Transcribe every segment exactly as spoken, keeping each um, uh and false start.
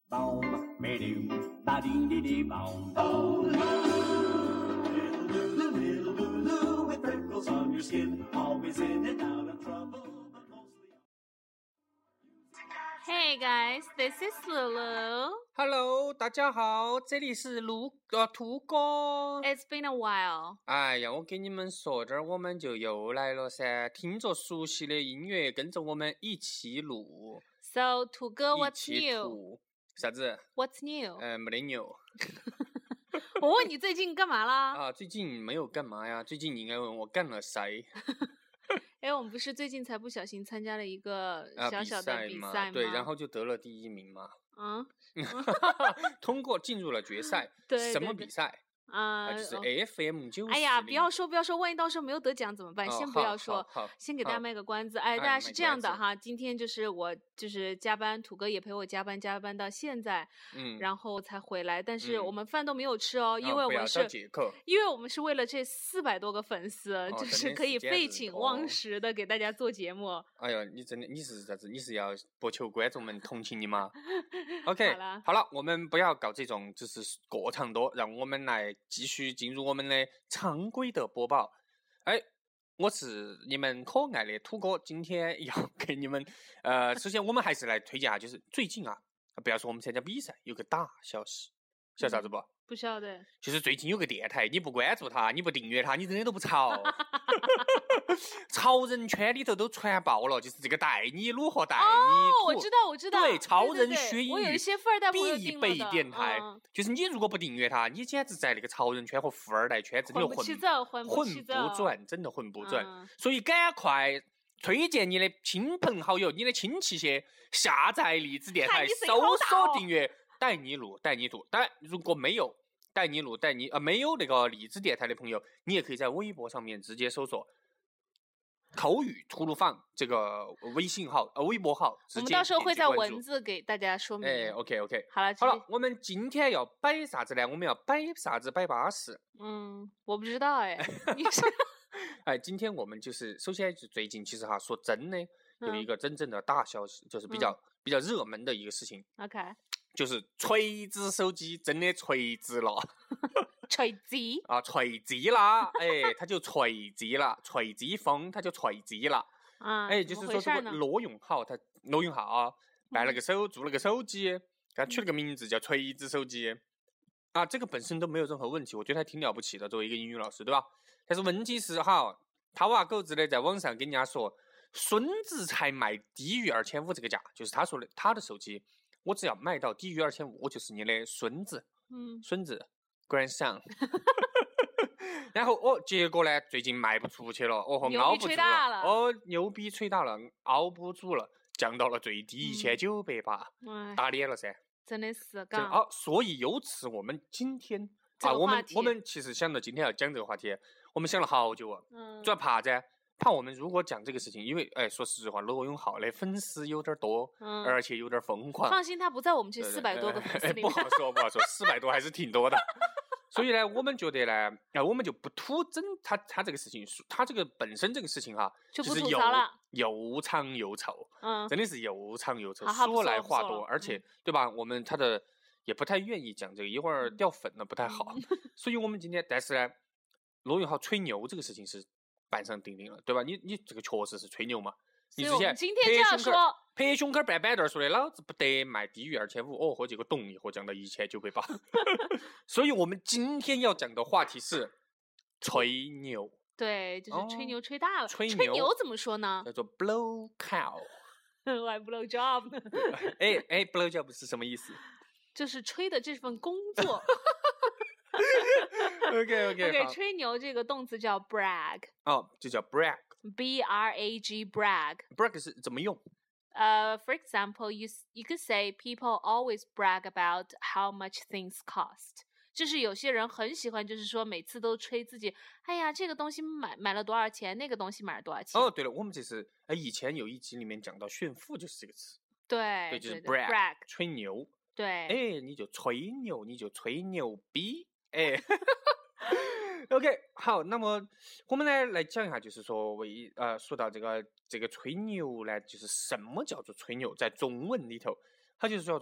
Boom, ba-doom, ba-dee-dee-dee-boom. Oh, Lulu, little Lulu, little Lulu, with freckles on your skin, always in and out of trouble, but mostly. Hey guys, this is Lulu. Hello， 大家好，这里是卢呃兔哥。 It's been a while. 哎呀，我给你们说，这儿我们就又来了噻，听着熟悉的音乐，跟着我们一起录。 So, 兔哥一 what's 起 new? 吐啥子？ What's new? 呃，没得牛我问你最近干嘛啦？ 啊！最近没有干嘛呀？最近你应该问我干了啥？ 哎，我们不是最近才不小心参加了一个啊， 小小的比嘛， 赛吗？ 对，然后就得了第一名嘛。 嗯， 通过进入了决赛。 对， 什么比赛？ 啊、 啊，就是 F M 九。 哎呀，不要说不要说，万一到时候没有得奖怎么办？ 哦、 先不要说， 好好好先给大家卖个关子。哎，大家是这样的哈，今天就是我就是加班，土哥也陪我加班，加班到现在， 嗯， 然后才回来。但是嗯我们饭都没有吃哦，因为哦、 我们是， 哦、 因为我们是为了这四百多个粉丝， 哦、 就是可以废寝忘食的给大家做节目。 哎呀，你真的你是啥子？你是要博求观众们同情你吗？OK， 好了， 好了，我们不要搞这种就是过长多，让我们来继续进入我们的常规的播报。哎，我是你们可爱的土哥，今天要给你们呃，首先我们还是来推荐下，就是最近啊，不要说我们参加比赛，有个大消息，晓得啥子不？ 嗯、不晓得。 就是最近有个电台，你不关注他，你不订阅他，你真的都不潮。潮人圈里头都传爆了，就是这个带你卤和带你哦，我知道，我知道， 对，潮人学英语， 我有一些富二代朋友必备电台、 嗯， 就是你如果不订阅他，你简直在那个潮人圈和富二代圈子里混不起走，混不起走， 混不转，真的混不转、 嗯。 所以赶快推荐你的亲朋好友、你的亲戚些下载荔枝电台，搜索订阅带你录带你读。当然，如果没有带你录带你呃没有那个荔枝电台的朋友，你也可以在微博上面直接搜索口语吐鲁坊这个微信号呃微博号， 我们到时候会在文字给大家说明。 哎 ，OK OK， 好了好了，我们今天要摆啥子呢？我们要摆啥子？摆巴士。 嗯，我不知道哎。你是哎，今天我们就是首先就最近其实哈说真的有一个真正的大消息，嗯、就是比较、嗯、比较热门的一个事情。 OK， 就是锤子手机真的锤子了。 锤子啊，锤子啦，哎，它就锤子了，锤子风它就锤子了， 啊， 哎，就是说这个罗永浩他罗永浩啊，办了个手、嗯、做了个手机，给他取了个名字叫锤子手机，啊，这个本身都没有任何问题，我觉得还挺了不起的，作为一个英语老师，对吧？但是问题是哈，他娃狗子的在网上跟人家说，孙子才卖低于二千五这个价，就是他说的他的手机，我只要卖到低于二千五，我就是你的孙子， 嗯， 孙子。grandson 然后哦，结果呢最近卖不出去了，哦，熬不住了，哦，牛逼吹大了，熬不住了，降到了最低一千九百八，打脸了噻， 真的是嘎。 哦，所以由此我们今天、 这个、 啊，我们我们其实想到今天要讲这个话题，我们想了好久啊， 嗯， 主要怕噻，怕我们如果讲这个事情，因为哎，说实话，罗永浩的粉丝有点多， 嗯， 而且有点疯狂。 放心，他不在我们这四百多个粉丝里面。 不好说，不好说，四百多还是挺多的。所以呢，我们觉得呢，啊、呃，我们就不吐真他他这个事情，他这个本身这个事情哈， 就不是吐槽了， 又长又臭， 嗯， 真的是又长又臭， 好好说来话多，而且、 嗯、 对吧？我们他的也不太愿意讲这个，一会儿掉粉了不太好，嗯、所以我们今天，但是呢，罗永浩吹牛这个事情是板上钉钉了，对吧？你你这个确实是吹牛嘛。你之前今天就要说拍胸口板板凳说的，老子不得卖低于二千五，哦，和结果咚一下降到一千九百八。所以我们今天要讲的话题是吹牛。 对，就是吹牛吹大了。 哦、吹牛吹牛怎么说呢？ 叫做 blow cow。 我还 blow job 呢。 哎哎 ，blow job 是什么意思？ 就是吹的这份工作。 OK OK OK， 吹牛这个动词叫 brag。 哦，就叫 brag。B R A G brag。 brag 是怎么用？ 呃、uh, ，For example, you you could say people always brag about how much things cost。就是有些人很喜欢，就是说每次都吹自己，哎呀，这个东西买买了多少钱，那个东西买了多少钱。 哦，对了，我们这是哎，以前有一集里面讲到炫富就是这个词。 对， 对，就是 brag, brag 吹牛。 对， 哎，你就吹牛，你就吹牛逼，哎。OK， 好，那么我们呢来讲一下，就是说为呃说到这个这个吹牛呢，就是什么叫做吹牛，在中文里头，它就是叫做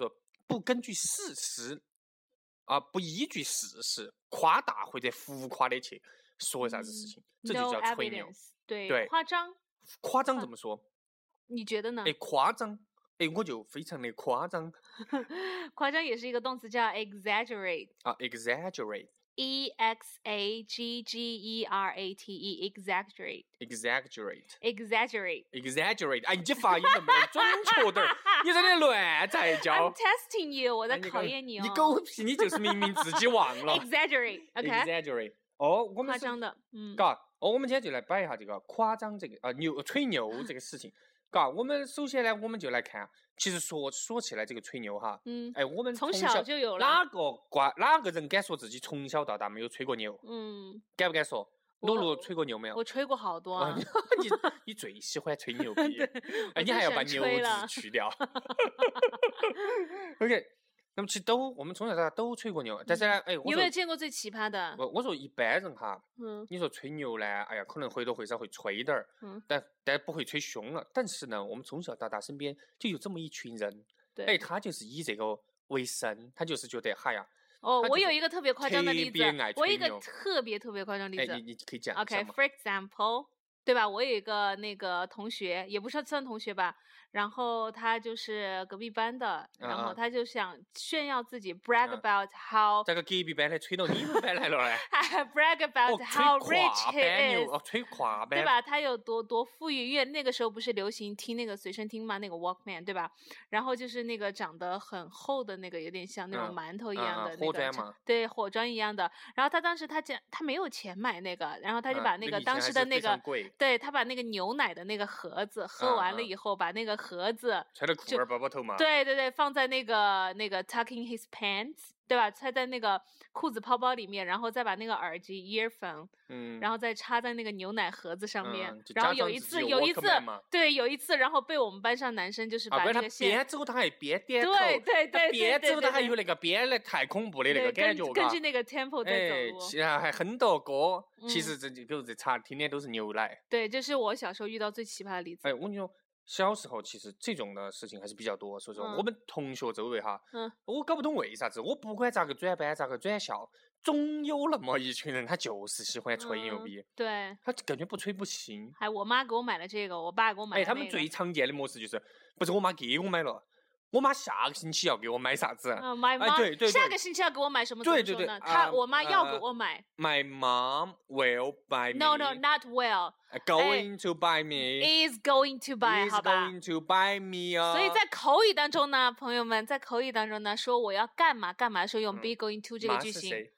不根据事实啊、不依据事实夸大或者浮夸的去说啥子事情，这就 no 叫吹牛。 evidence，对， 对夸张， 夸张怎么说？ 你觉得呢？ 哎，夸张，哎，我就非常的夸张夸张也是一个动词，叫 exaggerate。 啊 ，exaggerate。 E X A G G E R A T E exaggerate exaggerate exaggerate exaggerate， 哎，你这发音能不能准确点儿？你在那乱在 I'm 教。 testing you， 我在哎你看考验你哦。 你狗屁，你就是明明自己忘了。 exaggerate，OK，、okay? exaggerate。哦，我们是夸张的，嗯， 嘎，哦，我们今天就来摆一下这个夸张这个啊、呃、牛吹牛这个事情。嘎，我们首先呢，我们就来看，其实说说起来这个吹牛哈， 嗯， 哎，我们从小小就有了哪个瓜哪个人敢说自己从小到大没有吹过牛？ 嗯， 敢不敢说？ 我露露吹过牛没有？ 我吹过好多啊。 你你最喜欢吹牛逼，哎，你还要把牛字去掉。OK， 那么其实都我们从小到大都吹过牛，但是呢，哎，我你有没有见过最奇葩的？ 我我说一般人哈， 嗯你说吹牛呢，哎呀，可能或多或少会吹点儿， 嗯， 但但不会吹凶了。但是呢，我们从小到大身边就有这么一群人， 对， 哎，他就是以这个为生，他就是觉得，哈呀， 哦，我他就是有一个特别夸张的例子特别爱， 我有一个吹牛特别特别夸张的例哎， 子。 你你可以讲一下吗？ OK，for example，对吧？我有一个那个同学，也不是算同学吧，然后他就是隔壁班的，然后嗯嗯他就想炫耀自己，brag 嗯 about how 这个隔壁班的吹到你们班来了嘞。 brag 哦， about 吹 how 跨 rich 班 he 牛， is， 哦，吹跨班， 对吧？他有多多富裕，因为那个时候不是流行听那个随身听嘛，那个 Walkman， 对吧？然后就是那个长得很厚的那个，有点像那种嗯馒头一嗯嗯样的那个长， 火砖嘛对，火砖一样的。然后他当时他讲他没有钱买那个，然后他就嗯把那个当以前还是时的那个， 非常贵对他把那个牛奶的那个盒子喝嗯嗯完了以后，把那个盒子， 揣到裤儿包包头嘛。 对对对，放在那个那个 tucking his pants，对吧？揣在那个裤子泡包里面，然后再把那个耳机 earphone， 嗯， 然后再插在那个牛奶盒子上面。 嗯就然后有一假装自己有次有一次 Walkman 嘛， 对，有一次，然后被我们班上男生就是啊，不是他把那个线， 边走他还边点头， 对对他对对边走他还对对对有那个边的太恐怖的那对， 个感觉，嘎根根据那个 tempo 在哎， 走路。 其实还很多歌，其嗯实这就比如这茶听的都是牛奶。 对，这是我小时候遇到最奇葩的例子。 哎，我跟你说，小时候其实这种的事情还是比较多，所以说嗯我们同学周围哈， 嗯， 我搞不懂为啥子，我不管咋个转班咋个转校，总有那么一群人，他就是喜欢吹牛嗯逼， 对， 他感觉不吹不行。 还我妈给我买了这个，我爸给我买了、 哎， 那个。 他们最常见的模式就是，不是我妈给我买了，我妈下个星期要给我买啥子？ 嗯，my 哎 mom，、 对对对下个星期要给我买什么？ 对对对怎么说呢？他、 啊我妈要给呃我买。 My mom will buy me. No no not well Going to buy me. is going to buy， Is 好吧？ going to buy me 啊。 所以在口语当中呢，朋友们，在口语当中呢，说我要干嘛干嘛的时候用嗯 be going to 这个妈句型。 是谁？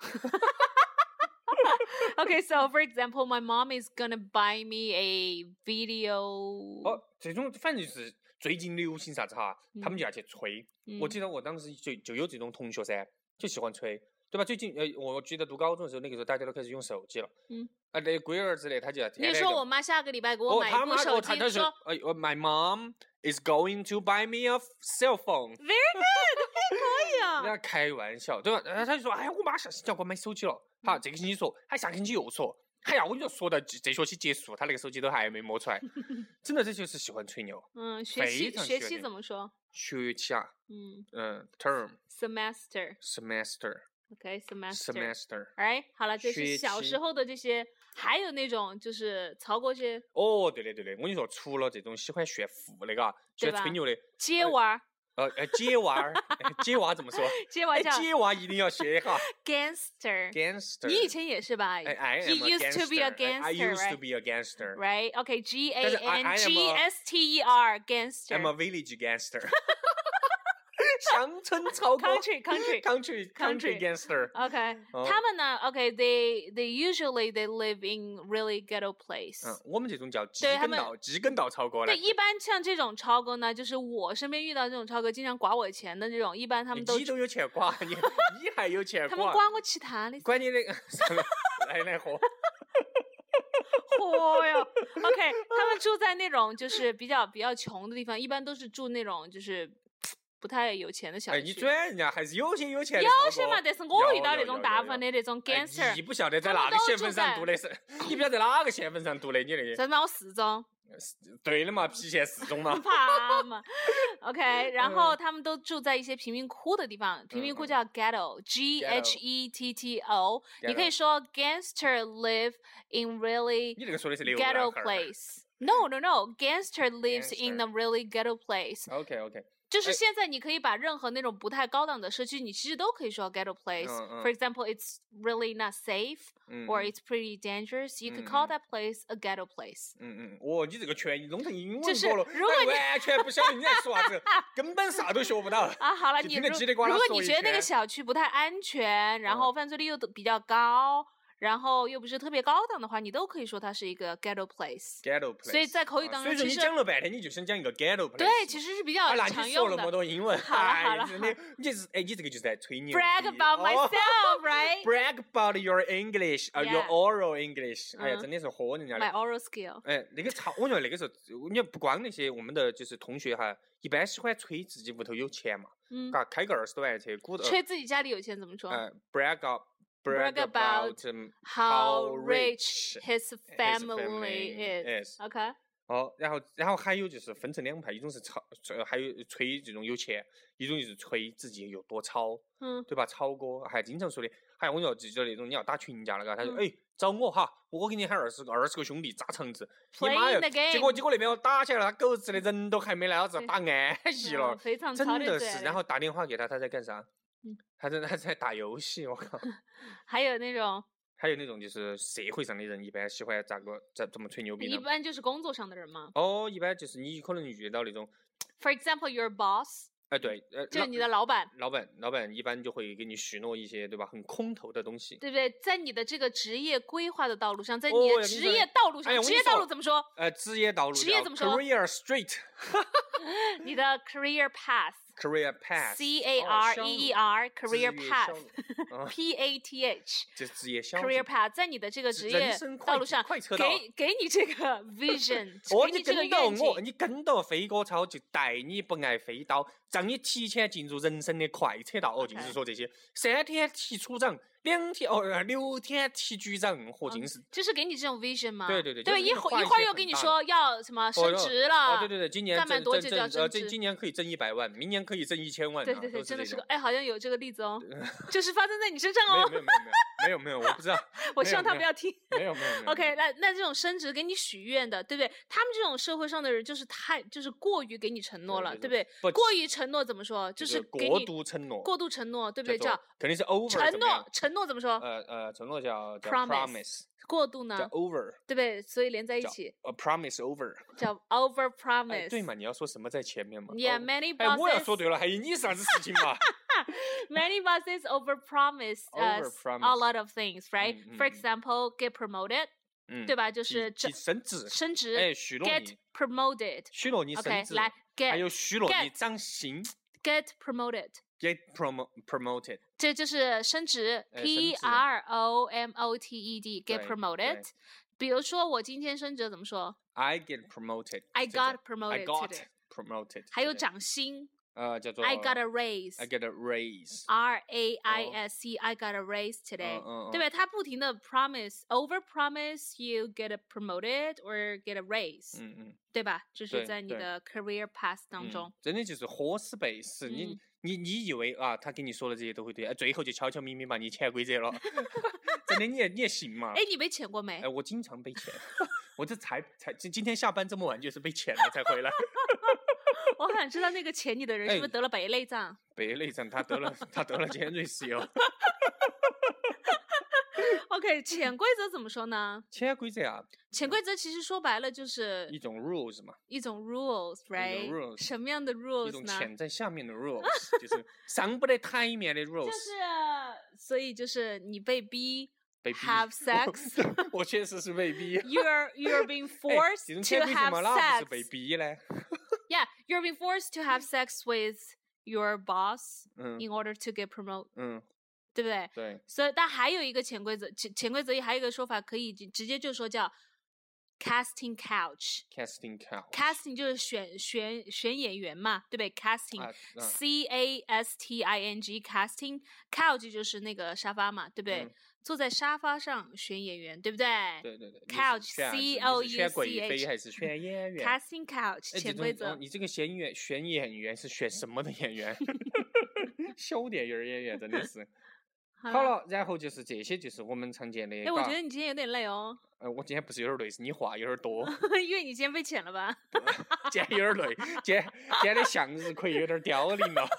Okay, so for example, my mom is gonna buy me a video。 哦，这种反正就是最近流行啥子哈，他们就要去吹。我记得得我当时就就有这种同学噻，就喜欢吹，对吧？最近呃，我记得读高中的时候，那个时候大家都开始用手机了。 嗯。 啊，那龟儿之类，他就要天你天就说我妈下个礼拜给我哦， 买他妈一部手机， 哦他他是说呃呃，My mom is going to buy me a cell phone。 very good，可以人啊。 家开玩笑，对吧？然后他就说：“哎呀，我妈下星期要给我买手机了。”好，这个星期说，还下个星期又说。哎呀，我跟你说，说到这这学期结束，他那个手机都还没摸出来。真的，这就是喜欢吹牛。 嗯，学期学期非常喜欢这怎么说？ 学期啊， 嗯嗯，term ，semester。 semester OK，semester。 semester。 哎，好了，这是学期小时候的这些，还有那种就是曹国这哦，对的对的，我跟你说，除了这种喜欢炫富的，嘎，喜对吧欢吹牛的， 接娃儿， 呃呃，姐娃儿，姐娃怎么说？哎， 接娃叫姐娃一定要学一下 gangster。 gangster。 你以前也是吧？ 哎，I You am a used to be a gangster. I gangster, used to right? be a gangster. Right? OK, G A 但是 I- I am N G a- S T E R I'm a gangster. village gangster. 乡村超哥 Country country. country country Country gangster。 OK， 哦他们呢？OK，they they usually they live in really ghetto place。 嗯，我们这种叫鸡对他们跟道，鸡跟道超哥对， 嘞。 一般像这种超哥呢，就是我身边遇到这种超哥，经常刮我钱的这种，一般他们都你都有钱刮，你你还有钱他们刮？ 刮我其他的。 管你那个来来喝。 嚯哟！OK，他们住在那种就是比较比较穷的地方，一般都是住那种就是不太有钱的小哎， 区。 你转人家还是有些有钱的有超哥些嘛，但是我遇到那种有有有有大部分的那种哎 gangster， 你不晓得在哪个县份上读的是，你不晓得哪个县份上读的，你那个。 在闹四中。 对的嘛，郫县四中嘛。 怕嘛 ？OK， 然后他们都住在一些贫民窟的地方，贫民窟叫 ghetto，G H E T T O。你可以说 gangster live in really 你这个说的是流 ghetto place。No no no，gangster lives in a really ghetto place。 OK OK。 就是现在你可以把任何那种不太高档的社区，你其实都可以说 ghetto place。 嗯嗯 For example, it's really not safe, 嗯 or it's pretty dangerous. You could 嗯 call 嗯 that place a ghetto place。 嗯嗯，哦，你这个全弄成英文就是过了， 如果你哎完全不晓得你在说啥子，根本啥都学不到。 啊，好了， 就你如听得叽里呱啦如果说一你觉得那个圈小区不太安全，然后犯罪率又比较高，然后又不是特别高档的话，你都可以说它是一个 ghetto place。 ghetto place。 所以在口语当中啊所以说你其实讲了半天，你就想讲一个 ghetto place。 对，其实是比较啊，那常你说用的。 那么多英文， 好了好哎了真的，你就是哎，你这个就是在吹牛逼。 Brag about 哦 myself, right? Brag about your English，呃 ，your Yeah oral English。哎呀， 嗯真的是喝人家 My 的。 oral skill。 哎，那个超，我觉得那个时候，你不光那些我们的就是同学哈，一般喜欢吹自己屋头有钱嘛， 嗯， 嘎，开个二十多万的车，鼓捣。 吹自己家里有钱怎么说？ 呃，brag up。brag Brag about about um, How rich rich his his family family is. is. OK。 哦，然后然后还有就是分成两派，一种是炒，呃还有吹这种有钱，一种就是吹自己有多糙， 嗯对吧？草哥还经常说的，还有我要记得那种你要打群架了，嘎，他说嗯哎找我哈，我给你喊二十个二十个兄弟扎场子，你 Playing 妈呀 the！game 结果结果那边我打起来了，他狗日的人都还没来，老子对打安逸了嗯，非常真操的嘴的是。然后打电话给他，他在干啥？ 嗯他在他在打游戏，我靠！ 还有那种还有那种就是社会上的人，一般喜欢咋个咋怎么吹牛逼一呢？ 般就是工作上的人嘛。 哦，一般就是你可能遇到那种， For example, your boss， 哎对，呃， 就是老你的老板， 老板，老板一般就会给你许诺一些，对吧？很空头的东西。 对不对？在你的这个职业规划的道路上，在哦你的我跟你说职业道路上， 哎呀我跟你职业道路说怎么说？ 呃，职业道路叫职业怎么说 ？Career Street，Career 你的 career path。 Path。 C A R E E R 职 career 业 path 项目啊 P A T H 就是职业小 career path， 在你的这个职人业生快道路上， 快车道给给你这个 vision， 哦， 给你这个跟到愿景我，。你跟到飞哥超，就带你不挨飞刀，让你提前进入人生的快车道。哦，尽是 OK 说这些，三天提处长，两天哦，呃六天提局长，和尽是。 就是给你这种 vision 吗？ 对对对对， 就是一会一你画一会儿又跟你些很大的说要什么升哟职了， 哦，对对对，今年干满挣挣多久就要挣呃， 升职这今年可以挣一百万，明年可以挣一千万啊。 对对对， 都这种真的是个，哎，好像有这个例子哦，就是发生在你身上哦。 没有没有没有没有没有没有，我不知道。 我希望他没有不要听。 没有没有没有。 OK，那那这种升职给你许愿的，对不对？他们这种社会上的人就是太就是过于给你承诺了， 对对对不对？ 不过于承诺怎么说？就就是过给你度承诺， 过度承诺，对不对？ 叫做叫肯定是 over 承诺怎么样， 承诺怎么说？ 呃呃，承诺叫叫 Promise promise， 过度叫呢， over， 对不对？所以连在一叫起呃 promise over。 叫 over 哎， promise。 对嘛？你要说什么在前面嘛 Yeah, 哦 many 哎，我要 bosses 说对了，还有你啥子事情嘛？ many bosses over promise us a Overpromise lot of things, right? 嗯嗯 For 嗯 example, get promoted， 嗯， 对吧？就是提这提升职， 升职哎，许诺 ，get 你， promoted。 许诺你 OK， 升职， 来还 get 有许诺你 get 涨薪 get promoted。 ，get promo promoted。 这就是升职哎 ，P 升职 R O M O T E D get 对 promoted 对。 比如说我今天升职怎么说 I get promoted。 ？I 这叫 got promoted I got today。 promoted。 还有涨薪呃，叫做 ，I got a raise。 I get a raise。 R A I S E I got a raise today，、 嗯嗯对不对？他不停的 promise over promise you get a promoted or get a raise，、 嗯嗯。 对吧？就是对对在你的 career path 当嗯中。 真的就是喝死背死。你嗯你你以为啊，他跟你说的这些都会对，哎，最后就悄悄咪咪把你潜规则了。真的，你也你也信嘛？ 哎，你被潜过没哎，？我经常被潜，我这才才今今天下班这么晚就是被潜了才回来。 我很想知道那个潜你的人是不是哎得了白内障？ 北内障他得了他得了尖锐湿疣。 OK，潜规则怎么说呢？ 潜规则啊， 潜规则其实说白了就是一种 rules 嘛， 一种 rules，right？ rules 什么样的一 rules 种呢？ 潜在下面的 rules，就是上不得台面的 rules。 就是，所以就是你被逼被逼 have sex 我我确实是被逼。 ，you're you're being 哎 forced 这种 to 潜规则 have 嘛，那不是被 sex。 逼呢？ Yeah, you're being forced to have sex with your boss 嗯 in order to get promoted， 嗯， 对不对？ 对， 所以，但还有一个潜规则，潜潜规则里还有一个说法，可以直直接就说叫 casting couch。 casting couch。 casting 就是选选选演员嘛，对不对？casting、 啊嗯 C A S T I N G casting couch 就是那个沙发嘛，对不对？ 嗯坐在沙发上选演员，对不对？ 对对对 Couch 选 C 你 O 是 U 选贵 C 妃 H 还是选演员 Casting couch 哎，这种潜规则哦，你这个选演选演员是选什么的演员？小电影儿演员真的是。好了，然后就是这些，就是我们常见的。 哎，我觉得你今天有点累哦。 呃，我今天不是有点累，是你话有点多。 因为你今天被遣了吧？ 今天有点累，今天今天的向日葵有点凋零了。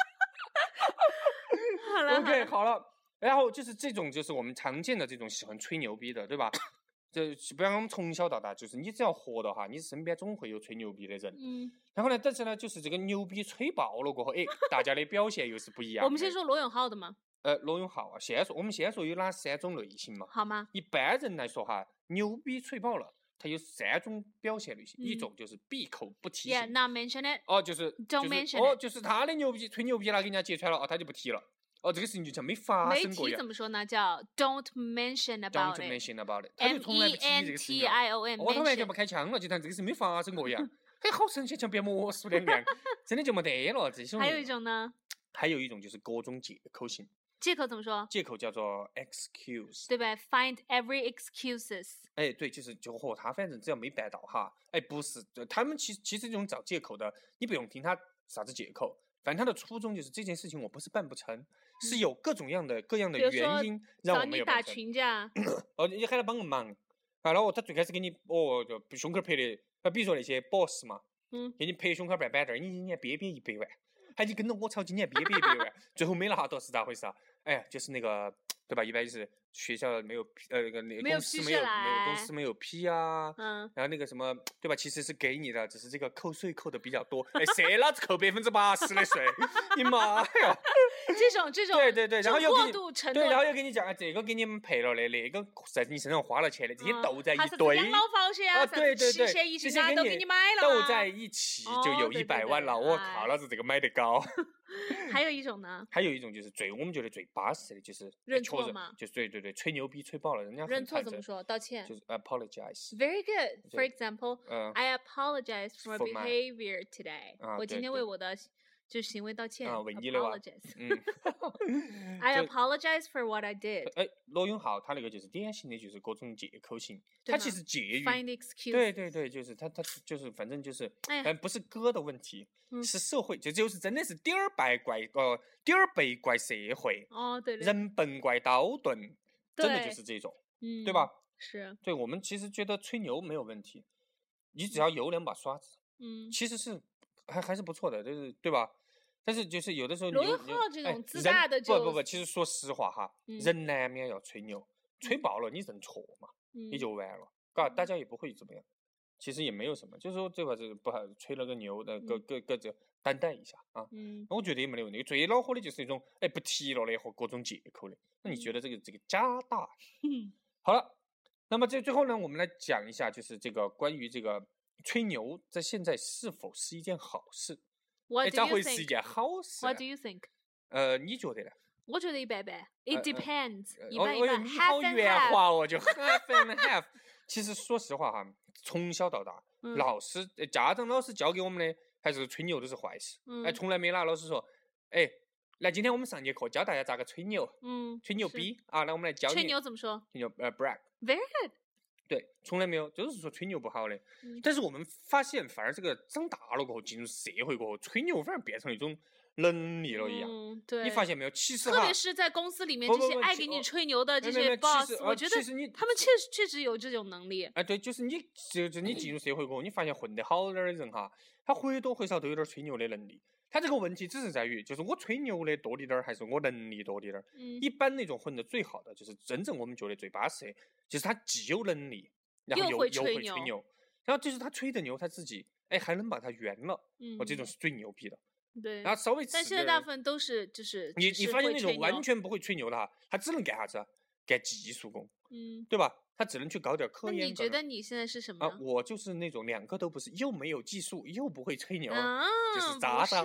好了 OK， 好了，然后就是这种，就是我们常见的这种喜欢吹牛逼的，对吧？就不然我们从小到大，就是你只要活的话，你身边总会有吹牛逼的人。 嗯。 然后呢，但是呢，就是这个牛逼吹爆了过后，哎，大家的表现又是不一样的。 我们先说罗永浩的嘛。 呃，罗永浩啊，先说我们先说有哪三种类型嘛？ 好吗？ 一般人来说哈，牛逼吹爆了，它有三种表现类型， 嗯、 一种就是闭口不提。 Yeah, not mention it. 哦，就是 Don't 就是 mention 哦， it. 就是他的牛逼吹牛逼了，给人家揭穿了，哦，他就不提了。哦，这个事情就像没发生过一样。 没提怎么说呢？叫 Don't mention about it. Don't mention about it. 他就从来不提这个事情。 M E N T I O N. 哦，他完全不开枪了，就当这个事没发生过一样。嘿，好神奇，像变魔术两样，真的就没得了。这种。 还有一种呢？ 还有一种就是各种借口型。 借口怎么说？ 借口叫做 excuse， 对吧 ？Find every excuses。 哎，对，就是就和他反正只要没办到哈，哎，不是，他们其实其实这种找借口的，你不用听他啥子借口，反正他的初衷就是这件事情我不是办不成，是有各种样的各样的原因让我没有办成。找你打群架。 哦，你喊他帮个忙，然后他最开始给你哦，就胸口拍的，啊，比如说那些 boss 嘛， 嗯， 给你拍胸口办板凳，你今年憋憋一百万。还你跟着我吵，今年憋憋一百万，最后没拿到是咋回事啊？哎呀，就是那个，对吧？一般就是学校没有呃那个那个公司没有没有公司没有批啊，嗯，然后那个什么，对吧？其实是给你的，只是这个扣税扣的比较多。哎，谁老子扣百分之八十的税？你妈呀！ 这种这种对对对，然后又给你对，然后又给你讲啊，这个给你们赔了的，那个在你身上花了钱的，这些斗在一堆。 养老保险啊， 对对对， 这些都给你买了， 斗在一起就有一百万了。我靠，老子这个买得高。 还有一种呢？ 还有一种就是最我们觉得最巴适的，就是认错嘛， 就是对对对，吹牛逼吹爆了，人家认错怎么说？道歉。 就是 apologize。 Very good. For example, I apologize for my behavior today. 我今天为我的就行为道歉。 啊，为你的哇。 嗯。I apologize for what I did. 哎，罗永浩他那个就是典型的，就是各种借口型，他其实介于。 Find excuse. 对对对，就是他他就是反正就是，但不是哥的问题，是社会，这就是真的是点儿背怪呃点儿背怪社会。 哦，对。 人笨怪刀钝，真的就是这种， 嗯， 对吧？ 是。 对，我们其实觉得吹牛没有问题，你只要有两把刷子， 嗯， 其实是还还是不错的，就是对吧？但是就是有的时候， 罗永浩这种自大的就不不不，其实说实话哈，人难免要吹牛，吹爆了你认错嘛，你就完了，嘎，大家也不会怎么样，其实也没有什么，就是说这块是不好吹了个牛的，各各各自担待一下啊。 嗯， 我觉得也没得问题。最恼火的就是那种哎不提了的和各种借口的，那你觉得这个这个假大？好了，那么这最后呢，我们来讲一下，就是这个关于这个吹牛在现在是否是一件好事？ 哎， 咋会是一件好事 ？What do you think？ 呃，你觉得呢？ 我觉得一般般 ，It depends，一般一般。 你好圆滑哦，就 half and half。其实说实话哈，从小到大，老师、家长、老师教给我们的还是吹牛都是坏事。哎，从来没拿老师说，哎，来，今天我们上节课教大家咋个吹牛， 嗯， 吹牛逼啊，来我们来教你。 吹牛怎么说？ 吹牛呃 ，brag。Very good。 对，从来没有，就是说吹牛不好的。但是我们发现，反而这个长大了过后，进入社会过后，吹牛反而变成一种能力了一样。 嗯，对。 你发现没有？其实特别是在公司里面，这些爱给你吹牛的这些 boss，我觉得他们确实确实有这种能力。 哎，对，就是你，就是你进入社会过后，你发现混得好点的人哈，他或多或少都有点吹牛的能力。他这个问题只是在于，就是我吹牛的多滴点儿，还是我能力多滴点儿？ 嗯。 一般那种混得最好的，就是真正我们觉得最巴适的，就是他既有能力，然后又会吹牛，然后就是他吹的牛，他自己哎还能把它圆了， 嗯， 哦，这种是最牛逼的。 对。 然后稍微， 但现在大部分都是就是你你发现那种完全不会吹牛的哈，他只能干啥子？干技术工， 嗯， 对吧？他只能去搞点科研。 那你觉得你现在是什么啊？我就是那种两个都不是，又没有技术，又不会吹牛， 啊、 就是渣渣。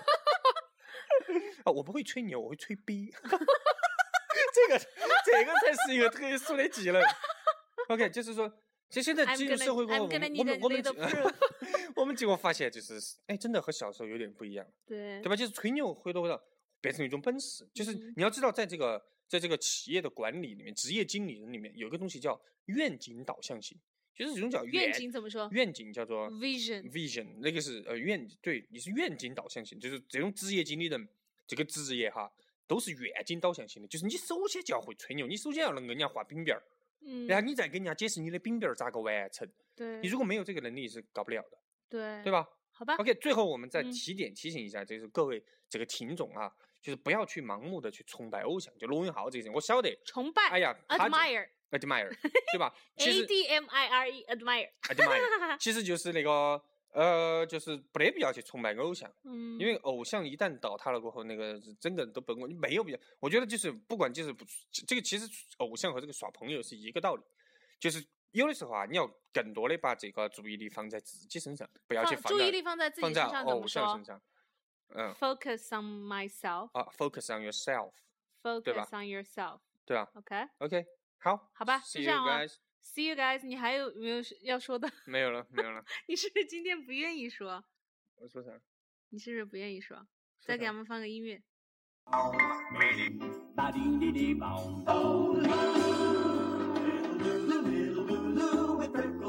啊，我不会吹牛，我会吹逼。这个这个才是一个特殊的技能。OK， 就是说，其实现在进入社会过后，我们我们我们我们结果发现，就是哎，真的和小时候有点不一样。 对， 对吧？就是吹牛回头回到变成一种本事，就是你要知道，在这个在这个企业的管理里面，职业经理人里面有一个东西叫愿景导向型，就是这种叫愿景怎么说？ 愿景叫做 vision vision， 那个是呃愿对，你是愿景导向型，就是这种职业经理人这个职业哈，都是愿景导向型的，就是你首先就要会吹牛，你首先要能给人家画饼饼儿， 嗯， 然后你再给人家解释你的饼饼儿咋个完成。 对， 你如果没有这个能力是搞不了的， 对对吧？ 好吧 OK， 最后我们再嗯提点提醒一下，就是各位这个听众啊，就是不要去盲目的去崇拜偶像，就罗永浩这个人，我晓得， 崇拜， 哎呀他就 ，admire， admire， 对吧？其 A 实 D M I R E admire， admire 其实就是那个呃，就是不得必要去崇拜偶像， 嗯， 因为偶像一旦倒塌了过后，那个整个人都崩溃，你没有必要。我觉得就是不管就是不这个，其实偶像和这个耍朋友是一个道理，就是有的时候啊，你要更多的把这个注意力放在自己身上，不要去放在注意力放在自己放在身上，怎偶么说像身上。嗯 ？Focus on myself， 啊，focus on yourself， focus on yourself， 对吧 OK， ？OK， 好， 好吧， See 就这样 you 啊。 guys， See you guys， 你还有没有要说的？ 没有了，没有了。 你是不是今天不愿意说？ 我说啥？ 你是不是不愿意说？ 说啥再给他们放个音乐。 Ba-dee-dee-dee-bong, oh,